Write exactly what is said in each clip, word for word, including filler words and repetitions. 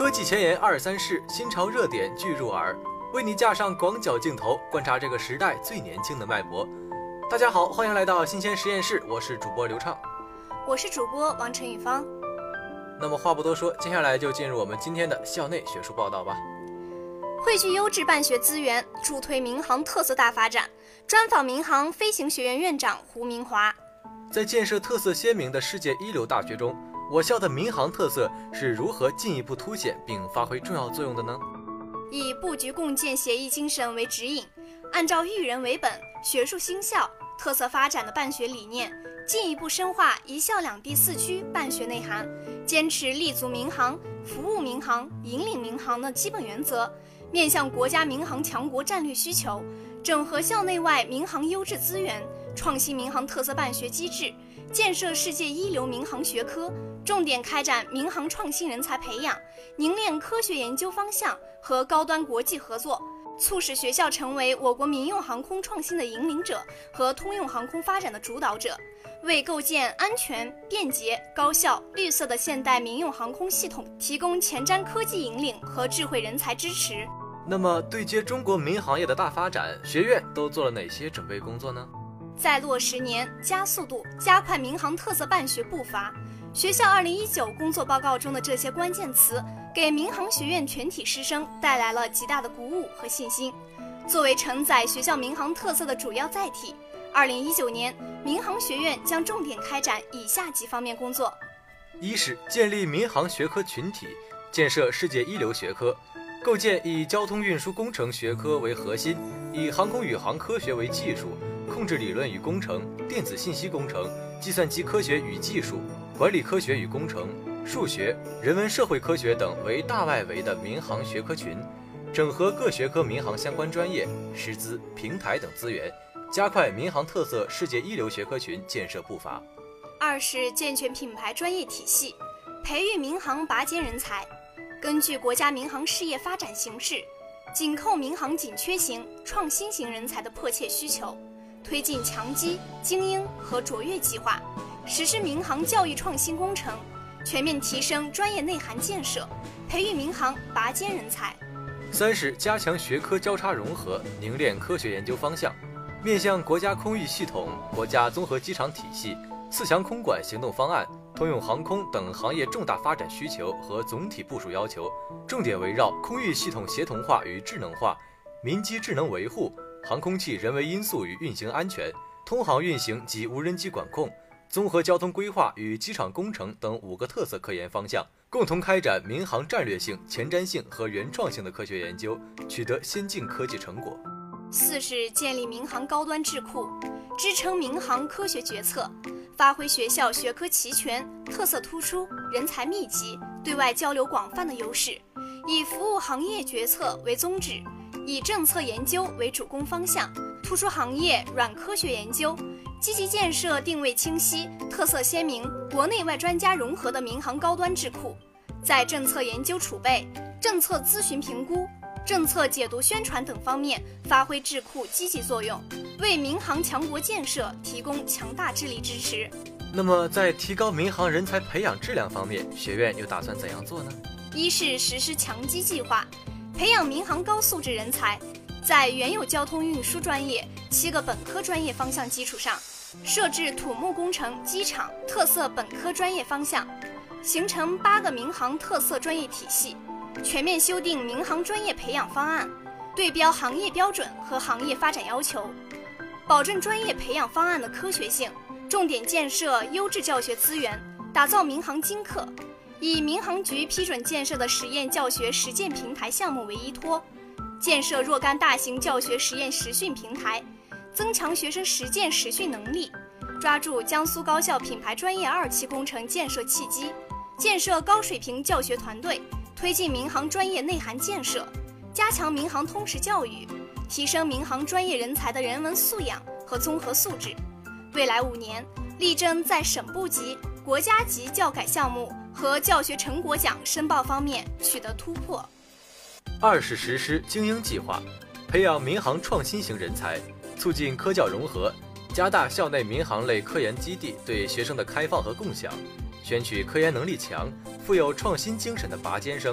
科技前沿二三事，新潮热点俱入耳，为你架上广角镜头，观察这个时代最年轻的脉搏。大家好，欢迎来到新鲜实验室，我是主播刘畅， 我是主播王晨宇芳。 那么话不多说，接下来就进入我们今天的校内学术报道吧。 汇聚优质办学资源，助推民航特色大发展。专访民航飞行学院院长胡明华。 在建设特色鲜明的世界一流大学中，我校的民航特色是如何进一步凸显并发挥重要作用的呢？ 以布局共建协议精神为指引，按照育人为本、学术兴校、特色发展的办学理念，进一步深化一校两地四区办学内涵，坚持立足民航、服务民航、引领民航的基本原则，面向国家民航强国战略需求，整合校内外民航优质资源，创新民航特色办学机制，建设世界一流民航学科，重点开展民航创新人才培养，凝练科学研究方向和高端国际合作，促使学校成为我国民用航空创新的引领者和通用航空发展的主导者，为构建安全、便捷、高效、绿色的现代民用航空系统提供前瞻科技引领和智慧人才支持。 那么，对接中国民航业的大发展，学院都做了哪些准备工作呢？ 在落实年、加速度、加快民航特色办学步伐。学校二零一九工作报告中的这些关键词，给民航学院全体师生带来了极大的鼓舞和信心。作为承载学校民航特色的主要载体，二零一九年，民航学院将重点开展以下几方面工作： 一是建立民航学科群体，建设世界一流学科，构建以交通运输工程学科为核心，以航空宇航科学为技术，控制理论与工程、电子信息工程、计算机科学与技术、管理科学与工程、数学、人文社会科学等为大外围的民航学科群，整合各学科民航相关专业、师资、平台等资源，加快民航特色世界一流学科群建设步伐。 二是健全品牌专业体系，培育民航拔尖人才。根据国家民航事业发展形势，紧扣民航紧缺型、创新型人才的迫切需求，推进强基、精英和卓越计划，实施民航教育创新工程，全面提升专业内涵建设，培育民航拔尖人才。 三是加强学科交叉融合，凝练科学研究方向，面向国家空域系统、国家综合机场体系、四强空管行动方案、通用航空等行业重大发展需求和总体部署要求，重点围绕空域系统协同化与智能化、民机智能维护、航空器人为因素与运行安全、通航运行及无人机管控、综合交通规划与机场工程等五个特色科研方向，共同开展民航战略性、前瞻性和原创性的科学研究，取得先进科技成果。 四是建立民航高端智库，支撑民航科学决策，发挥学校学科齐全、特色突出、人才密集、对外交流广泛的优势，以服务行业决策为宗旨，以政策研究为主攻方向，突出行业软科学研究，积极建设定位清晰、特色鲜明、国内外专家融合的民航高端智库，在政策研究储备、政策咨询评估、政策解读宣传等方面发挥智库积极作用，为民航强国建设提供强大智力支持。 那么在提高民航人才培养质量方面，学院又打算怎样做呢？ 一是实施强基计划，培养民航高素质人才，在原有交通运输专业七个本科专业方向基础上，设置土木工程、机场特色本科专业方向，形成八个民航特色专业体系，全面修订民航专业培养方案，对标行业标准和行业发展要求，保证专业培养方案的科学性，重点建设优质教学资源，打造民航精课，以民航局批准建设的实验教学实践平台项目为依托，建设若干大型教学实验实训平台，增强学生实践实训能力，抓住江苏高校品牌专业二期工程建设契机，建设高水平教学团队，推进民航专业内涵建设，加强民航通识教育，提升民航专业人才的人文素养和综合素质。未来五年，力争在省部级、国家级教改项目和教学成果奖申报方面取得突破。 二是实施精英计划，培养民航创新型人才，促进科教融合，加大校内民航类科研基地对学生的开放和共享，选取科研能力强、富有创新精神的拔尖生，提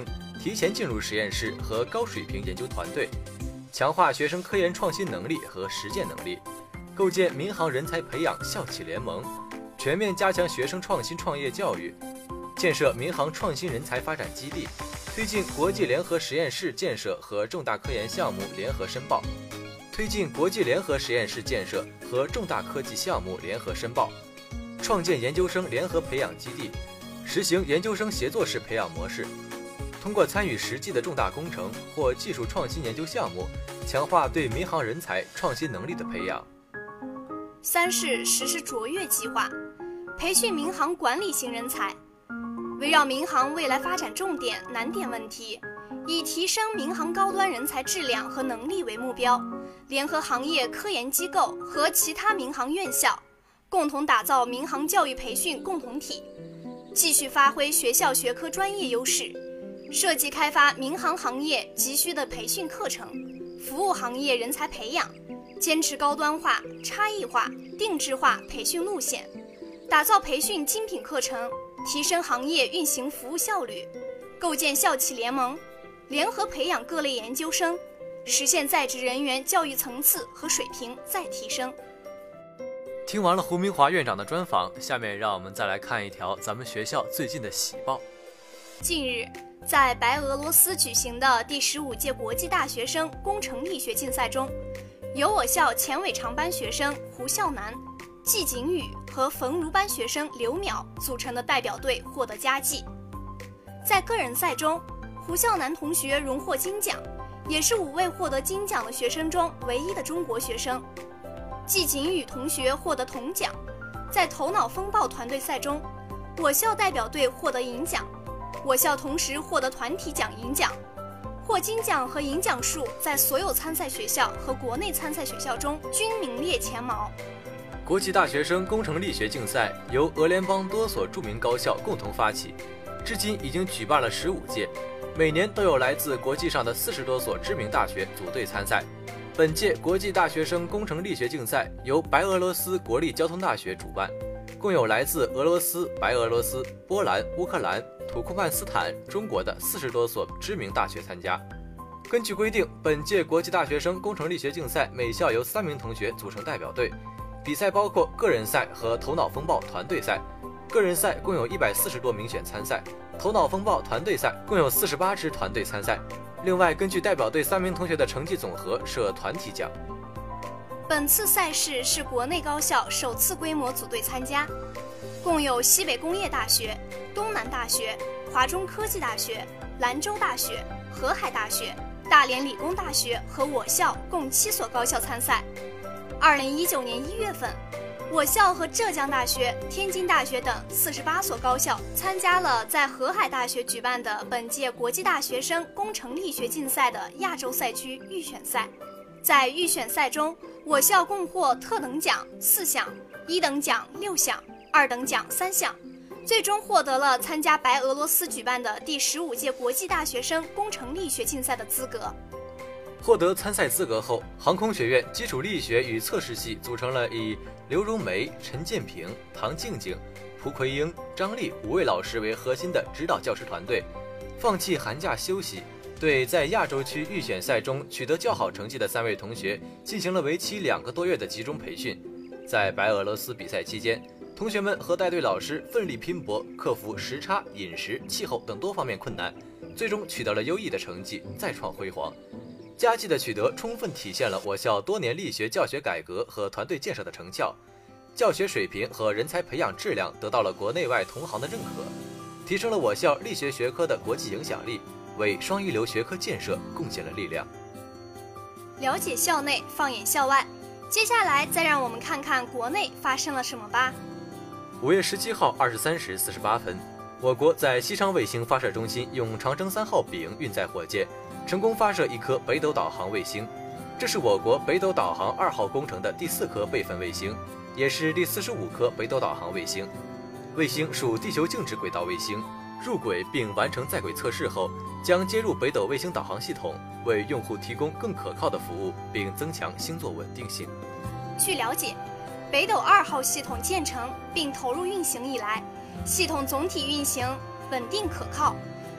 提前进入实验室和高水平研究团队，强化学生科研创新能力和实践能力，构建民航人才培养校企联盟，全面加强学生创新创业教育，建设民航创新人才发展基地，推进国际联合实验室建设和重大科研项目联合申报，推进国际联合实验室建设和重大科技项目联合申报，创建研究生联合培养基地，实行研究生协作式培养模式，通过参与实际的重大工程或技术创新研究项目，强化对民航人才创新能力的培养。 三是实施卓越计划，培训民航管理型人才，围绕民航未来发展重点、难点问题，以提升民航高端人才质量和能力为目标，联合行业科研机构和其他民航院校，共同打造民航教育培训共同体，继续发挥学校学科专业优势，设计开发民航行业急需的培训课程，服务行业人才培养，坚持高端化、差异化、定制化培训路线，打造培训精品课程，提升行业运行服务效率，构建校企联盟，联合培养各类研究生，实现在职人员教育层次和水平再提升。 听完了胡明华院长的专访，下面让我们再来看一条咱们学校最近的喜报。 近日，在白俄罗斯举行的第十五届国际大学生工程力学竞赛中，由我校前尾长班学生胡孝南、季景宇和冯如班学生刘淼组成的代表队获得佳绩。在个人赛中，胡孝南同学荣获金奖，也是五位获得金奖的学生中唯一的中国学生。季景宇同学获得铜奖。在头脑风暴团队赛中，我校代表队获得银奖，我校同时获得团体奖银奖，获金奖和银奖数在所有参赛学校和国内参赛学校中均名列前茅。 国际大学生工程力学竞赛由俄联邦多所著名高校共同发起，至今已经举办了十五届，每年都有来自国际上的四十多所知名大学组队参赛。本届国际大学生工程力学竞赛由白俄罗斯国立交通大学主办，共有来自俄罗斯、白俄罗斯、波兰、乌克兰、土库曼斯坦、中国的四十多所知名大学参加。根据规定，本届国际大学生工程力学竞赛每校由三名同学组成代表队，比赛包括个人赛和头脑风暴团队赛。个人赛共有一百四十多名选参赛，头脑风暴团队赛共有四十八支团队参赛。另外，根据代表队三名同学的成绩总和设团体奖。 本次赛事是国内高校首次规模组队参加，共有西北工业大学、东南大学、华中科技大学、兰州大学、河海大学、大连理工大学和我校共七所高校参赛。二零一九年一月份，我校和浙江大学、天津大学等四十八所高校参加了在河海大学举办的本届国际大学生工程力学竞赛的亚洲赛区预选赛。在预选赛中，我校共获特等奖四项，一等奖六项，二等奖三项，最终获得了参加白俄罗斯举办的第十五届国际大学生工程力学竞赛的资格。 获得参赛资格后，航空学院基础力学与测试系组成了以刘荣梅、陈建平、唐静静、蒲奎英、张丽五位老师为核心的指导教师团队，放弃寒假休息，对在亚洲区预选赛中取得较好成绩的三位同学进行了为期两个多月的集中培训。在白俄罗斯比赛期间，同学们和带队老师奋力拼搏，克服时差、饮食、气候等多方面困难，最终取得了优异的成绩，再创辉煌。佳绩的取得充分体现了我校多年力学教学改革和团队建设的成效，教学水平和人才培养质量得到了国内外同行的认可，提升了我校力学学科的国际影响力，为双一流学科建设贡献了力量。 了解校内，放眼校外，接下来再让我们看看国内发生了什么吧。 五月十七号二十三时四十八分，我国在西昌卫星发射中心用长征三号丙运载火箭成功发射一颗北斗导航卫星，这是我国北斗导航二号工程的第四颗备份卫星，也是第四十五颗北斗导航卫星。卫星属地球静止轨道卫星，入轨并完成在轨测试后，将接入北斗卫星导航系统，为用户提供更可靠的服务，并增强星座稳定性。 据了解，北斗二号系统建成并投入运行以来，系统总体运行稳定可靠，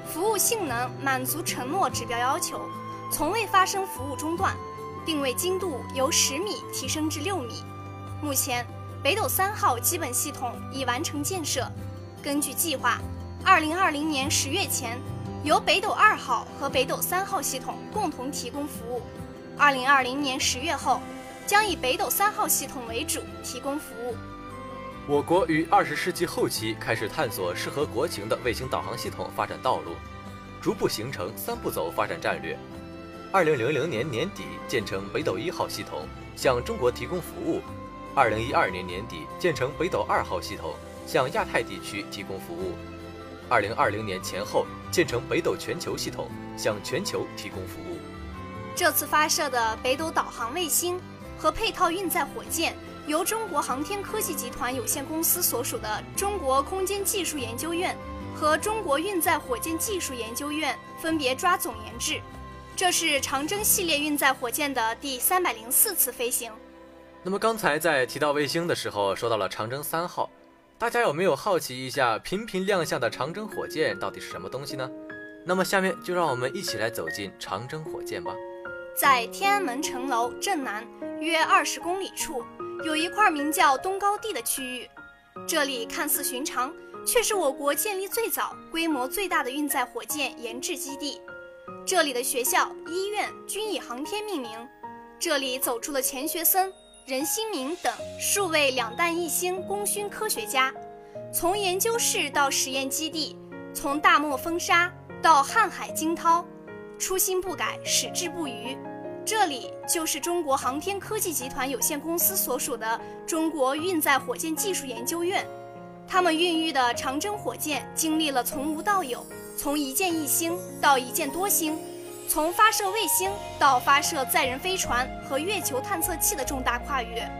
服务性能满足承诺指标要求，从未发生服务中断，定位精度由十米提升至六米。目前，北斗三号基本系统已完成建设。根据计划，二零二零年十月前，由北斗二号和北斗三号系统共同提供服务。二零二零年十月后，将以北斗三号系统为主提供服务。 我国于二十世纪后期开始探索适合国情的卫星导航系统发展道路，逐步形成三步走发展战略。二零零零年年底建成北斗一号系统，向中国提供服务；二零一二年年底建成北斗二号系统，向亚太地区提供服务；二零二零年前后建成北斗全球系统，向全球提供服务。 这次发射的北斗导航卫星和配套运载火箭，由中国航天科技集团有限公司所属的中国空间技术研究院和中国运载火箭技术研究院分别抓总研制。这是长征系列运载火箭的第三百零四次飞行。 那么刚才在提到卫星的时候，说到了长征三号，大家有没有好奇一下频频亮相的长征火箭到底是什么东西呢？那么下面就让我们一起来走进长征火箭吧。 在天安门城楼正南约二十公里处，有一块名叫东高地的区域，这里看似寻常，却是我国建立最早、规模最大的运载火箭研制基地。这里的学校、医院均以航天命名，这里走出了钱学森、任新明等数位两弹一星功勋科学家。从研究室到实验基地，从大漠风沙到瀚海惊涛，初心不改，矢志不渝。这里就是中国航天科技集团有限公司所属的中国运载火箭技术研究院。他们孕育的长征火箭经历了从无到有，从一箭一星到一箭多星，从发射卫星到发射载人飞船和月球探测器的重大跨越。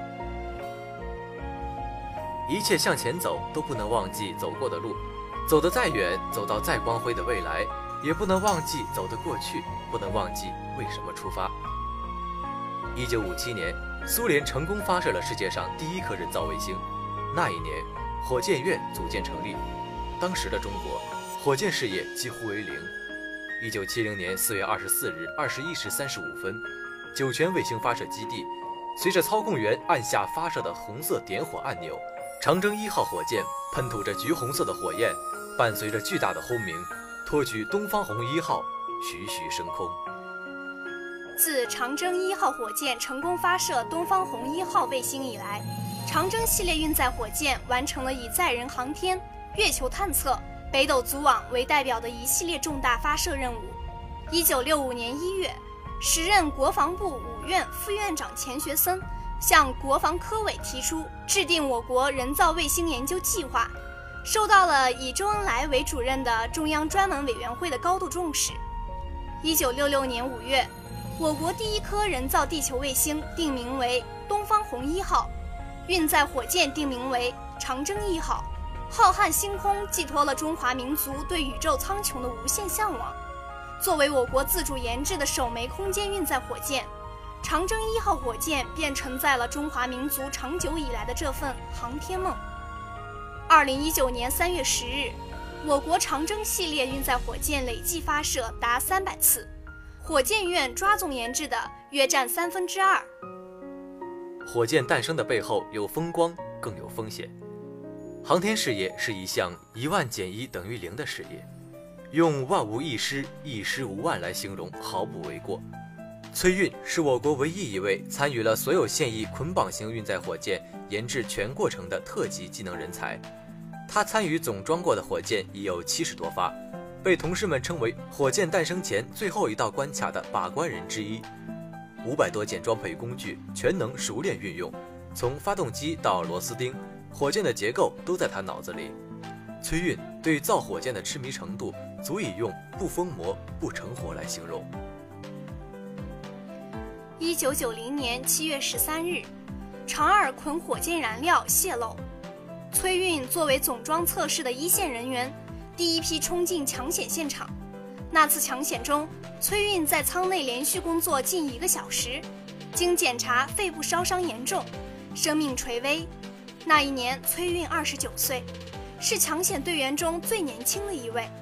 一切向前走，都不能忘记走过的路，走得再远，走到再光辉的未来，也不能忘记走的过去，不能忘记为什么出发。一九五七年，苏联成功发射了世界上第一颗人造卫星。那一年，火箭院组建成立。当时的中国，火箭事业几乎为零。一九七零年四月二十四日二十一时三十五分，酒泉卫星发射基地，随着操控员按下发射的红色点火按钮，长征一号火箭喷吐着橘红色的火焰，伴随着巨大的轰鸣，托举东方红一号徐徐升空。 自长征一号火箭成功发射东方红一号卫星以来，长征系列运载火箭完成了以载人航天、月球探测、北斗组网为代表的一系列重大发射任务。一九六五年一月，时任国防部五院副院长钱学森向国防科委提出制定我国人造卫星研究计划，受到了以周恩来为主任的中央专门委员会的高度重视。一九六六年五月，我国第一颗人造地球卫星定名为东方红一号，运载火箭定名为长征一号。浩瀚星空寄托了中华民族对宇宙苍穹的无限向往。作为我国自主研制的首枚空间运载火箭，长征一号火箭便承载了中华民族长久以来的这份航天梦。二零一九年三月十日，我国长征系列运载火箭累计发射达三百次，火箭院抓总研制的约占三分之二。 火箭诞生的背后有风光，更有风险。航天事业是一项一万减一等于零的事业，用万无一失、一失无万来形容毫不为过。崔运是我国唯一一位参与了所有现役捆绑型运载火箭研制全过程的特级技能人才。他参与总装过的火箭已有七十多发，被同事们称为火箭诞生前最后一道关卡的把关人之一。五百多件装配工具全能熟练运用，从发动机到螺丝钉，火箭的结构都在他脑子里。崔运对造火箭的痴迷程度，足以用不疯魔不成活来形容。 一九九零年七月十三日，长二捆火箭燃料泄漏，崔运作为总装测试的一线人员，第一批冲进抢险现场。那次抢险中，崔运在舱内连续工作近一个小时，经检查肺部烧伤严重，生命垂危。那一年崔运二十九岁，是抢险队员中最年轻的一位。他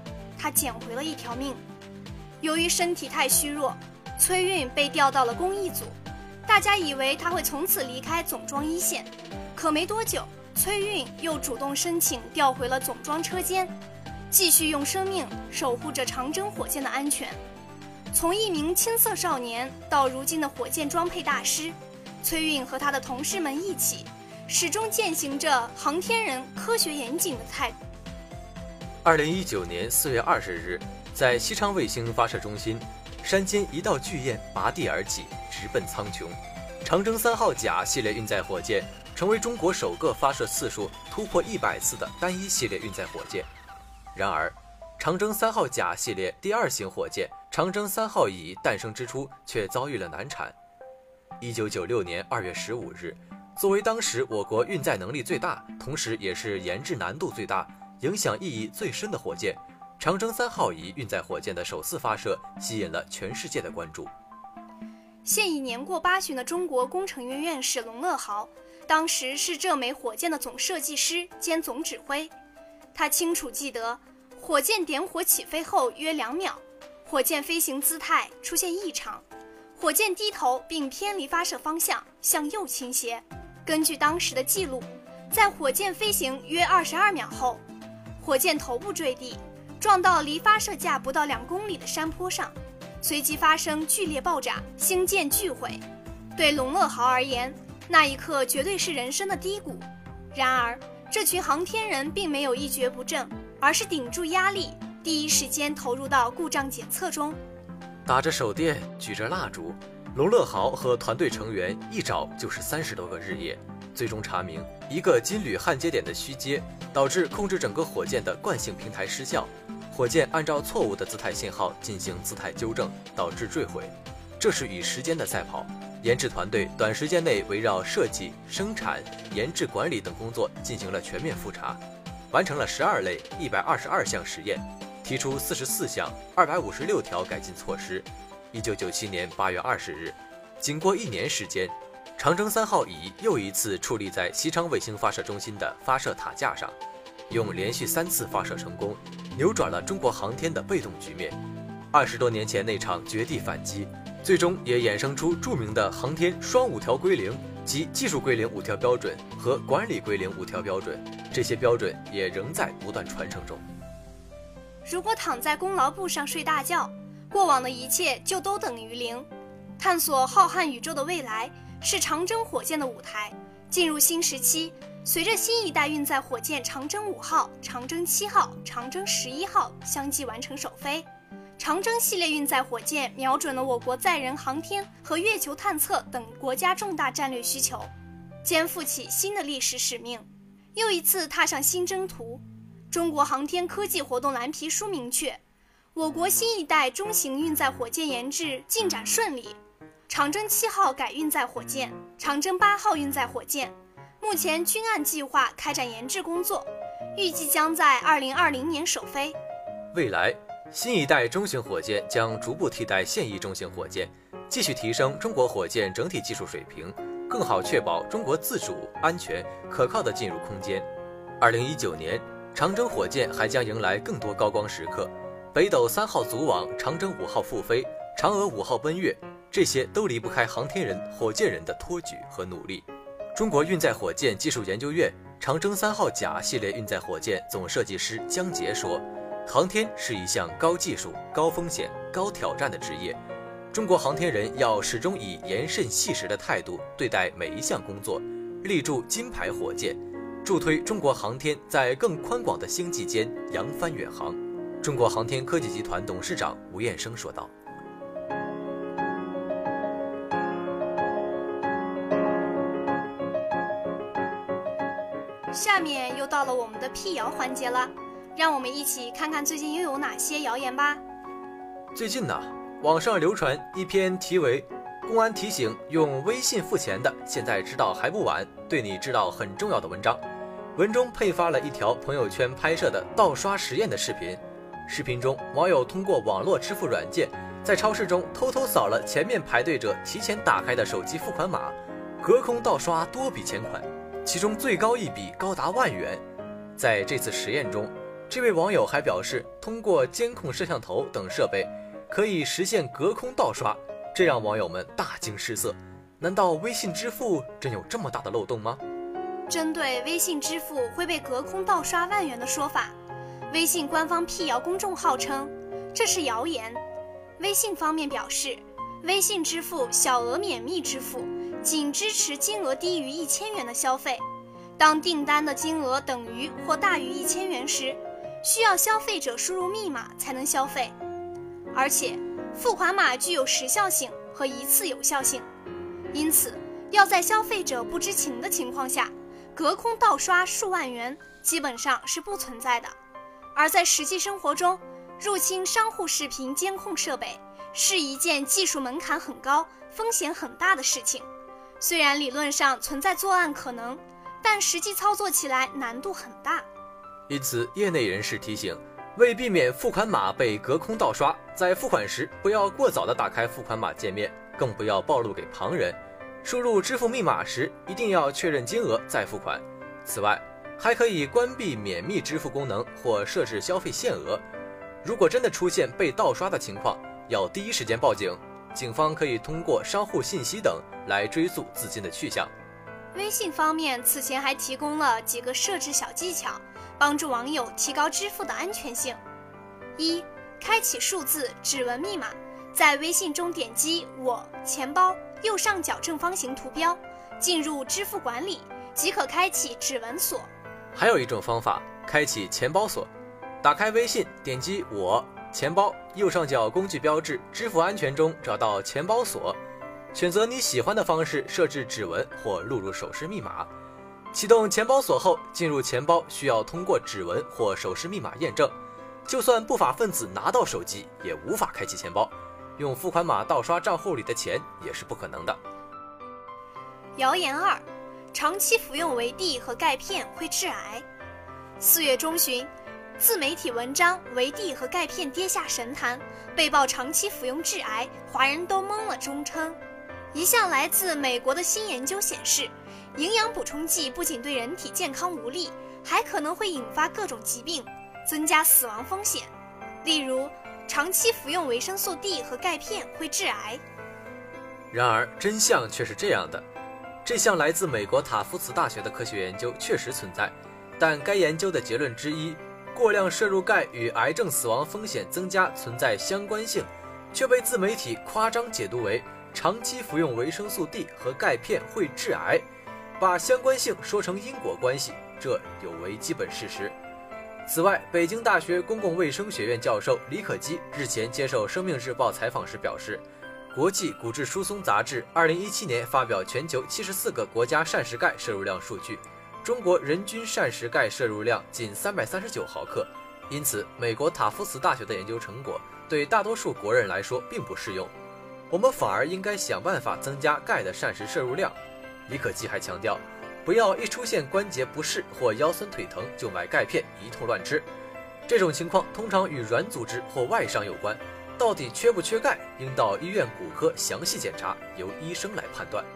他捡回了一条命。由于身体太虚弱，崔运被调到了公益组，大家以为他会从此离开总装一线，可没多久，崔运又主动申请调回了总装车间，继续用生命守护着长征火箭的安全。从一名青涩少年到如今的火箭装配大师，崔运和他的同事们一起，始终践行着航天人科学严谨的态度。 二零一九年四月二十日，在西昌卫星发射中心，山间一道巨雁拔地而起，直奔苍穹。长征三号甲系列运载火箭成为中国首个发射次数突破一百次的单一系列运载火箭。然而，长征三号甲系列第二型火箭长征三号乙诞生之初却遭遇了难产。一九九六年二月十五日，作为当时我国运载能力最大，同时也是研制难度最大、影响意义最深的火箭，长征三号乙运载火箭的首次发射吸引了全世界的关注。 现已年过八旬的中国工程院院士龙乐豪，当时是这枚火箭的总设计师兼总指挥。他清楚记得，火箭点火起飞后约两秒，火箭飞行姿态出现异常，火箭低头并偏离发射方向，向右倾斜。根据当时的记录，在火箭飞行约二十二秒后，火箭头部坠地，撞到离发射架不到两公里的山坡上，随即发生剧烈爆炸，星舰巨毁。对龙乐豪而言，那一刻绝对是人生的低谷。然而，这群航天人并没有一蹶不振，而是顶住压力，第一时间投入到故障检测中。 打着手电，举着蜡烛，龙乐豪和团队成员一找就是三十多个日夜，最终查明一个金铝焊接点的虚接，导致控制整个火箭的惯性平台失效，火箭按照错误的姿态信号进行姿态纠正，导致坠毁。这是与时间的赛跑。研制团队短时间内围绕设计、生产、研制管理等工作进行了全面复查，完成了十二类一百二十二项实验，提出四十四项二百五十六条改进措施。一九九七年八月二十日，经过一年时间，长征三号乙又一次矗立在西昌卫星发射中心的发射塔架上，用连续三次发射成功，扭转了中国航天的被动局面。二十多年前那场绝地反击，最终也衍生出著名的航天双五条归零，即技术归零五条标准和管理归零五条标准，这些标准也仍在不断传承中。 如果躺在功劳簿上睡大觉，过往的一切就都等于零。探索浩瀚宇宙的未来是长征火箭的舞台，进入新时期，随着新一代运载火箭长征五号、长征七号、长征十一号相继完成首飞，长征系列运载火箭瞄准了我国载人航天和月球探测等国家重大战略需求，肩负起新的历史使命，又一次踏上新征途。中国航天科技活动蓝皮书明确，我国新一代中型运载火箭研制进展顺利，长征七号改运载火箭、长征八号运载火箭目前均按计划开展研制工作，预计将在二零二零年首飞。 未来，新一代中型火箭将逐步替代现役中型火箭，继续提升中国火箭整体技术水平，更好确保中国自主、安全、可靠地进入空间。二零一九年，长征火箭还将迎来更多高光时刻，北斗三号组网、长征五号复飞、嫦娥五号奔月，这些都离不开航天人、火箭人的托举和努力。中国运载火箭技术研究院长征三号甲系列运载火箭总设计师姜杰说，航天是一项高技术、高风险、高挑战的职业，中国航天人要始终以严慎细实的态度对待每一项工作，立柱金牌火箭，助推中国航天在更宽广的星际间扬帆远航。中国航天科技集团董事长吴彦生说道。 下面又到了我们的辟谣环节了，让我们一起看看最近又有哪些谣言吧。 最近呢，网上流传一篇题为《公安提醒用微信付钱的，现在知道还不晚，对你知道很重要》的文章。文中配发了一条朋友圈拍摄的盗刷实验的视频。视频中，网友通过网络支付软件，在超市中偷偷扫了前面排队者提前打开的手机付款码，隔空盗刷多笔钱款，其中最高一笔高达万元。在这次实验中， 这位网友还表示，通过监控摄像头等设备，可以实现隔空盗刷，这让网友们大惊失色。难道微信支付真有这么大的漏洞吗？ 针对微信支付会被隔空盗刷万元的说法，微信官方辟谣公众号称这是谣言。微信方面表示，微信支付小额免密支付仅支持金额低于一千元的消费，当订单的金额等于或大于一千元时，需要消费者输入密码才能消费，而且付款码具有时效性和一次有效性，因此要在消费者不知情的情况下隔空盗刷数万元基本上是不存在的。而在实际生活中，入侵商户视频监控设备是一件技术门槛很高、风险很大的事情。虽然理论上存在作案可能，但实际操作起来难度很大。 因此，业内人士提醒，为避免付款码被隔空盗刷，在付款时不要过早地打开付款码界面，更不要暴露给旁人。输入支付密码时，一定要确认金额再付款。此外，还可以关闭免密支付功能或设置消费限额。如果真的出现被盗刷的情况，要第一时间报警，警方可以通过商户信息等来追溯资金的去向。 微信方面此前还提供了几个设置小技巧，帮助网友提高支付的安全性。一、开启数字指纹密码，在微信中点击我钱包右上角正方形图标，进入支付管理即可开启指纹锁。 还有一种方法，开启钱包锁。打开微信，点击我钱包右上角工具标志支付安全中找到钱包锁，选择你喜欢的方式设置指纹或录入手势密码。启动钱包锁后，进入钱包需要通过指纹或手势密码验证，就算不法分子拿到手机也无法开启钱包，用付款码盗刷账户里的钱也是不可能的。 谣言二，长期服用维 D 和钙片会致癌。四月中旬，自媒体文章维 D 和钙片跌下神坛，被曝长期服用致癌，华人都懵了中称。一项来自美国的新研究显示，营养补充剂不仅对人体健康无利，还可能会引发各种疾病，增加死亡风险。例如，长期服用维生素 D 和钙片会致癌。 然而，真相却是这样的。这项来自美国塔夫茨大学的科学研究确实存在，但该研究的结论之一，过量摄入钙与癌症死亡风险增加存在相关性，却被自媒体夸张解读为长期服用维生素 D 和钙片会致癌，把相关性说成因果关系，这有违基本事实。此外，北京大学公共卫生学院教授李可基日前接受《生命日报》采访时表示，国际骨质疏松杂志二零一七年发表全球七十四个国家膳食钙摄入量数据，中国人均膳食钙摄入量仅三百三十九毫克，因此美国塔夫茨大学的研究成果对大多数国人来说并不适用，我们反而应该想办法增加钙的膳食摄入量。李可基还强调，不要一出现关节不适或腰酸腿疼就买钙片一通乱吃，这种情况通常与软组织或外伤有关，到底缺不缺钙，应到医院骨科详细检查，由医生来判断。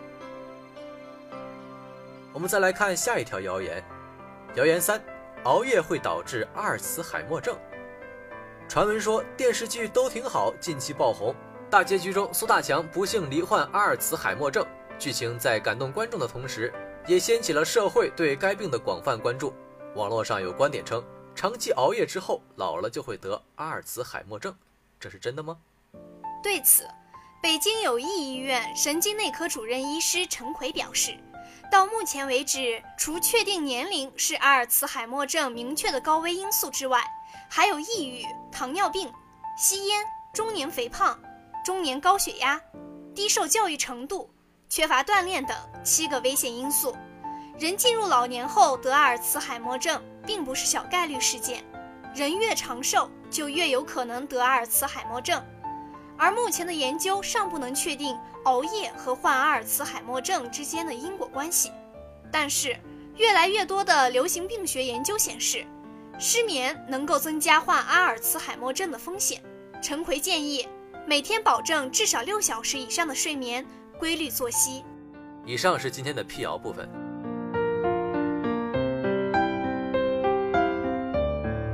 我们再来看下一条谣言。谣言三，熬夜会导致阿尔茨海默症。传闻说电视剧都挺好近期爆红，大结局中苏大强不幸罹患阿尔茨海默症，剧情在感动观众的同时，也掀起了社会对该病的广泛关注。网络上有观点称，长期熬夜之后老了就会得阿尔茨海默症，这是真的吗？ 对此，北京友谊医院神经内科主任医师陈奎表示，到目前为止，除确定年龄是阿尔茨海默症明确的高危因素之外，还有抑郁、糖尿病、吸烟、中年肥胖、中年高血压、低受教育程度、缺乏锻炼等七个危险因素。人进入老年后得阿尔茨海默症并不是小概率事件，人越长寿就越有可能得阿尔茨海默症。而目前的研究尚不能确定熬夜和患阿尔茨海默症之间的因果关系，但是越来越多的流行病学研究显示，失眠能够增加患阿尔茨海默症的风险。陈奎建议每天保证至少六小时以上的睡眠，规律作息。 以上是今天的辟谣部分。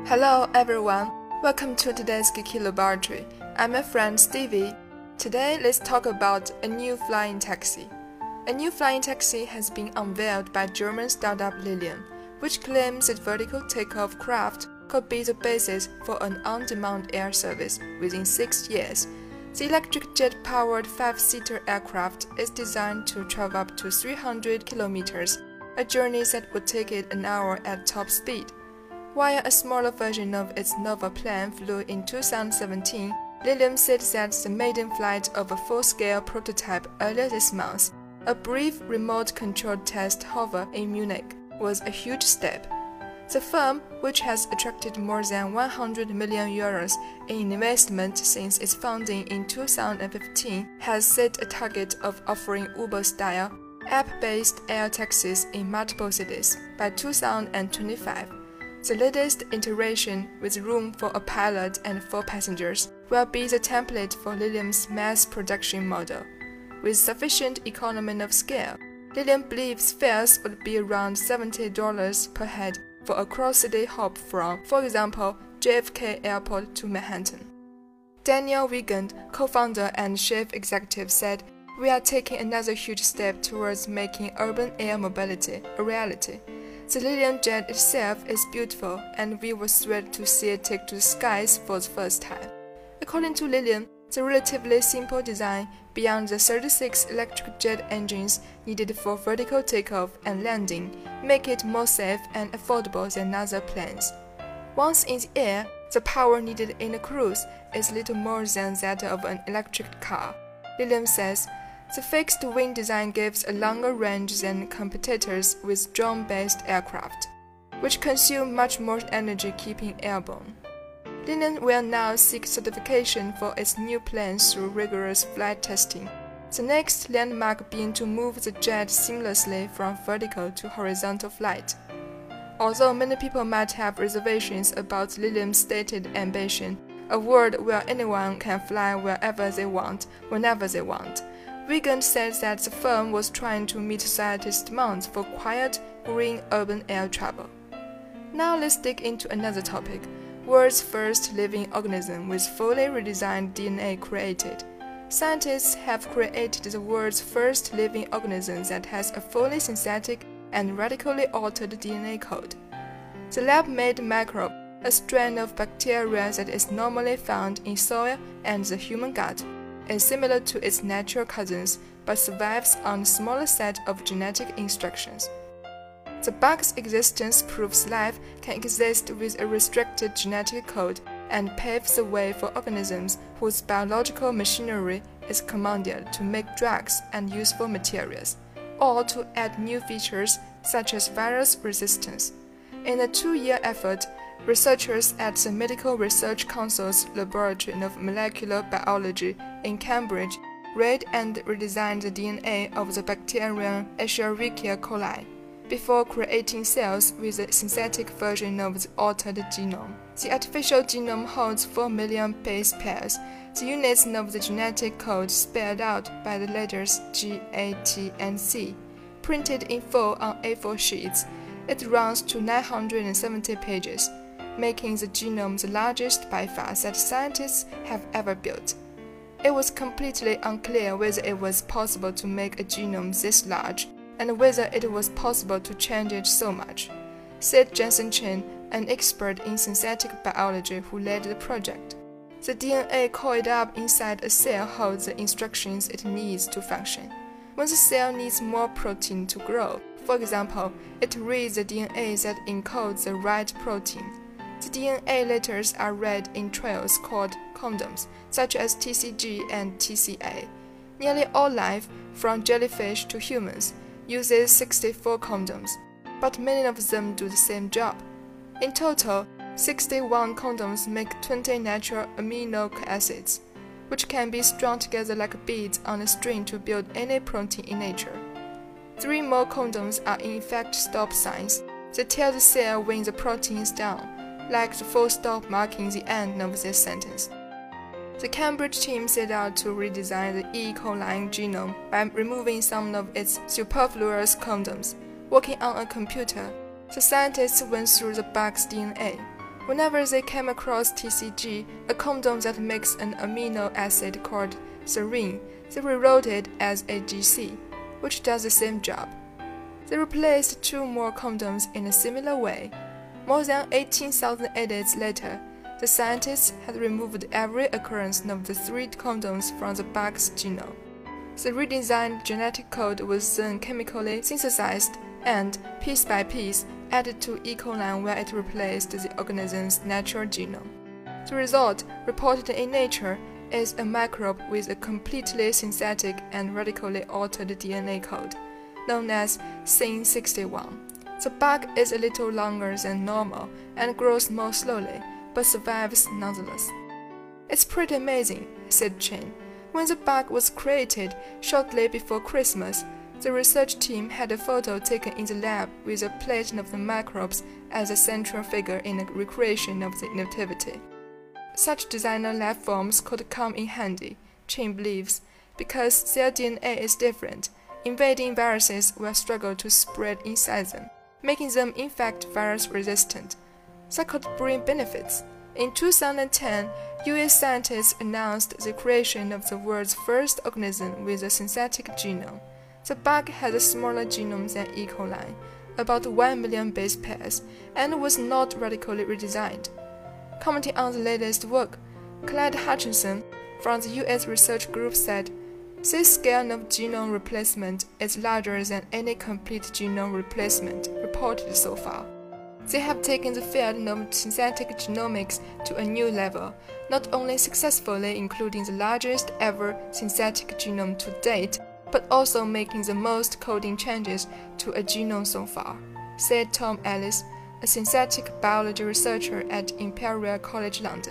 Hello everyone, welcome to today's Geeky Laboratory. I'm my friend Stevie. Today let's talk about a new flying taxi. A new flying taxi has been unveiled by German startup Lilium, which claims its vertical takeoff craft could be the basis for an on-demand air service within six years. The electric jet-powered five-seater aircraft is designed to travel up to three hundred kilometers, a journey that would take it an hour at top speed. While a smaller version of its Nova plane flew in two thousand seventeen, Lilium said that the maiden flight of a full-scale prototype earlier this month, a brief remote-controlled test hover in Munich, was a huge step. The firm, which has attracted more than one hundred million euros in investment since its founding in two thousand fifteen, has set a target of offering Uber-style, app-based air taxis in multiple cities by two thousand twenty-five. The latest iteration, with room for a pilot and four passengers, will be the template for Lilium's mass production model. With sufficient economy of scale, Lilium believes fares would be around seventy dollars per head for a cross-city hop from, for example, J F K Airport to Manhattan. Daniel Wiegand, co-founder and chief executive, said, "We are taking another huge step towards making urban air mobility a reality. The Lilium jet itself is beautiful, and we were thrilled to see it take to the skies for the first time." According to Lilium, the relatively simple design, beyond the thirty-six electric jet engines needed for vertical takeoff and landing, make it more safe and affordable than other planes. Once in the air, the power needed in a cruise is little more than that of an electric car. Lilium says, "The fixed-wing design gives a longer range than competitors with drone-based aircraft, which consume much more energy keeping airborne." Lilium will now seek certification for its new planes through rigorous flight testing, the next landmark being to move the jet seamlessly from vertical to horizontal flight. Although many people might have reservations about Lilium's stated ambition, a world where anyone can fly wherever they want, whenever they want, Wiegand said that the firm was trying to meet society's demands for quiet, green urban air travel. Now let's dig into another topic. World's first living organism with fully redesigned D N A created. Scientists have created the world's first living organism that has a fully synthetic and radically altered D N A code. The lab-made microbe, a strain of bacteria that is normally found in soil and the human gut, is similar to its natural cousins but survives on a smaller set of genetic instructions. The bug's existence proves life can exist with a restricted genetic code and paves the way for organisms whose biological machinery is commanded to make drugs and useful materials, or to add new features such as virus resistance. In a two-year effort, researchers at the Medical Research Council's Laboratory of Molecular Biology in Cambridge read and redesigned the D N A of the bacterium Escherichia coli before creating cells with a synthetic version of the altered genome. The artificial genome holds four million base pairs, the units of the genetic code spelled out by the letters G, A, T, and C, printed in full on A four sheets. It runs to nine hundred seventy pages, making the genome the largest by far that scientists have ever built. It was completely unclear whether it was possible to make a genome this large, and whether it was possible to change it so much, said Jensen Chen, an expert in synthetic biology who led the project. The D N A coiled up inside a cell holds the instructions it needs to function. When the cell needs more protein to grow, for example, it reads the D N A that encodes the right protein. The D N A letters are read in trails called codons, such as T C G and T C A. Nearly all life, from jellyfish to humans, uses sixty-four codons, but many of them do the same job. In total, sixty-one codons make twenty natural amino acids, which can be strung together like beads on a string to build any protein in nature. Three more codons are in effect stop signs. They tell the cell when the protein is done, like the full stop marking the end of this sentence. The Cambridge team set out to redesign the E. coli genome by removing some of its superfluous codons. Working on a computer, the scientists went through the bug's D N A. Whenever they came across T C G, a condom that makes an amino acid called serine, they rewrote it as A G C, which does the same job. They replaced two more condoms in a similar way. More than eighteen thousand edits later, the scientists had removed every occurrence of the three condoms from the bug's genome. The redesigned genetic code was then chemically synthesized and, piece by piece, added to E. coli where it replaced the organism's natural genome. The result, reported in Nature, is a microbe with a completely synthetic and radically altered D N A code, known as S Y N sixty-one. The bug is a little longer than normal and grows more slowly, but survives nonetheless. "It's pretty amazing," said Chen. When the bug was created shortly before Christmas, the research team had a photo taken in the lab with a plate of the microbes as a central figure in the recreation of the nativity. Such designer life forms could come in handy, Chen believes, because their D N A is different. Invading viruses will struggle to spread inside them, making them in fact virus-resistant. That could bring benefits. In two thousand ten, U S scientists announced the creation of the world's first organism with a synthetic genome. The bug had a smaller genome than E. coli, about one million base pairs, and was not radically redesigned. Commenting on the latest work, Clyde Hutchinson from the U S research group said, "This scale of genome replacement is larger than any complete genome replacement reported so far. They have taken the field of synthetic genomics to a new level, not only successfully including the largest ever synthetic genome to date, but also making the most coding changes to a genome so far," said Tom Ellis, a synthetic biology researcher at Imperial College London.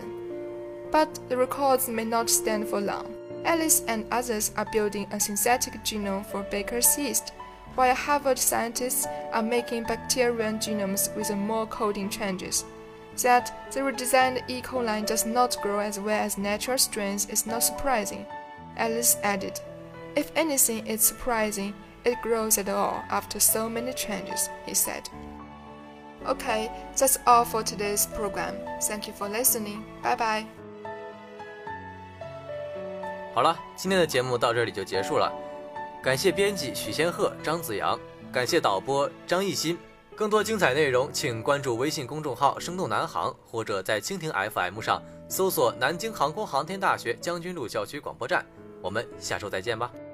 But the records may not stand for long. Ellis and others are building a synthetic genome for baker's yeast, while Harvard scientists are making bacterial genomes with more coding changes. That the redesigned E. coli does not grow as well as natural strains is not surprising, Ellis added. "If anything is surprising, it grows at all after so many changes," he said. Okay, that's all for today's program. Thank you for listening. Bye bye. 好了，今天的节目到这里就结束了。感谢编辑许仙鹤、张子阳，感谢导播张艺兴。更多精彩内容，请关注微信公众号“生动南航”，或者在蜻蜓 F M 上搜索南京航空航天大学将军路校区广播站。我们下周再见吧。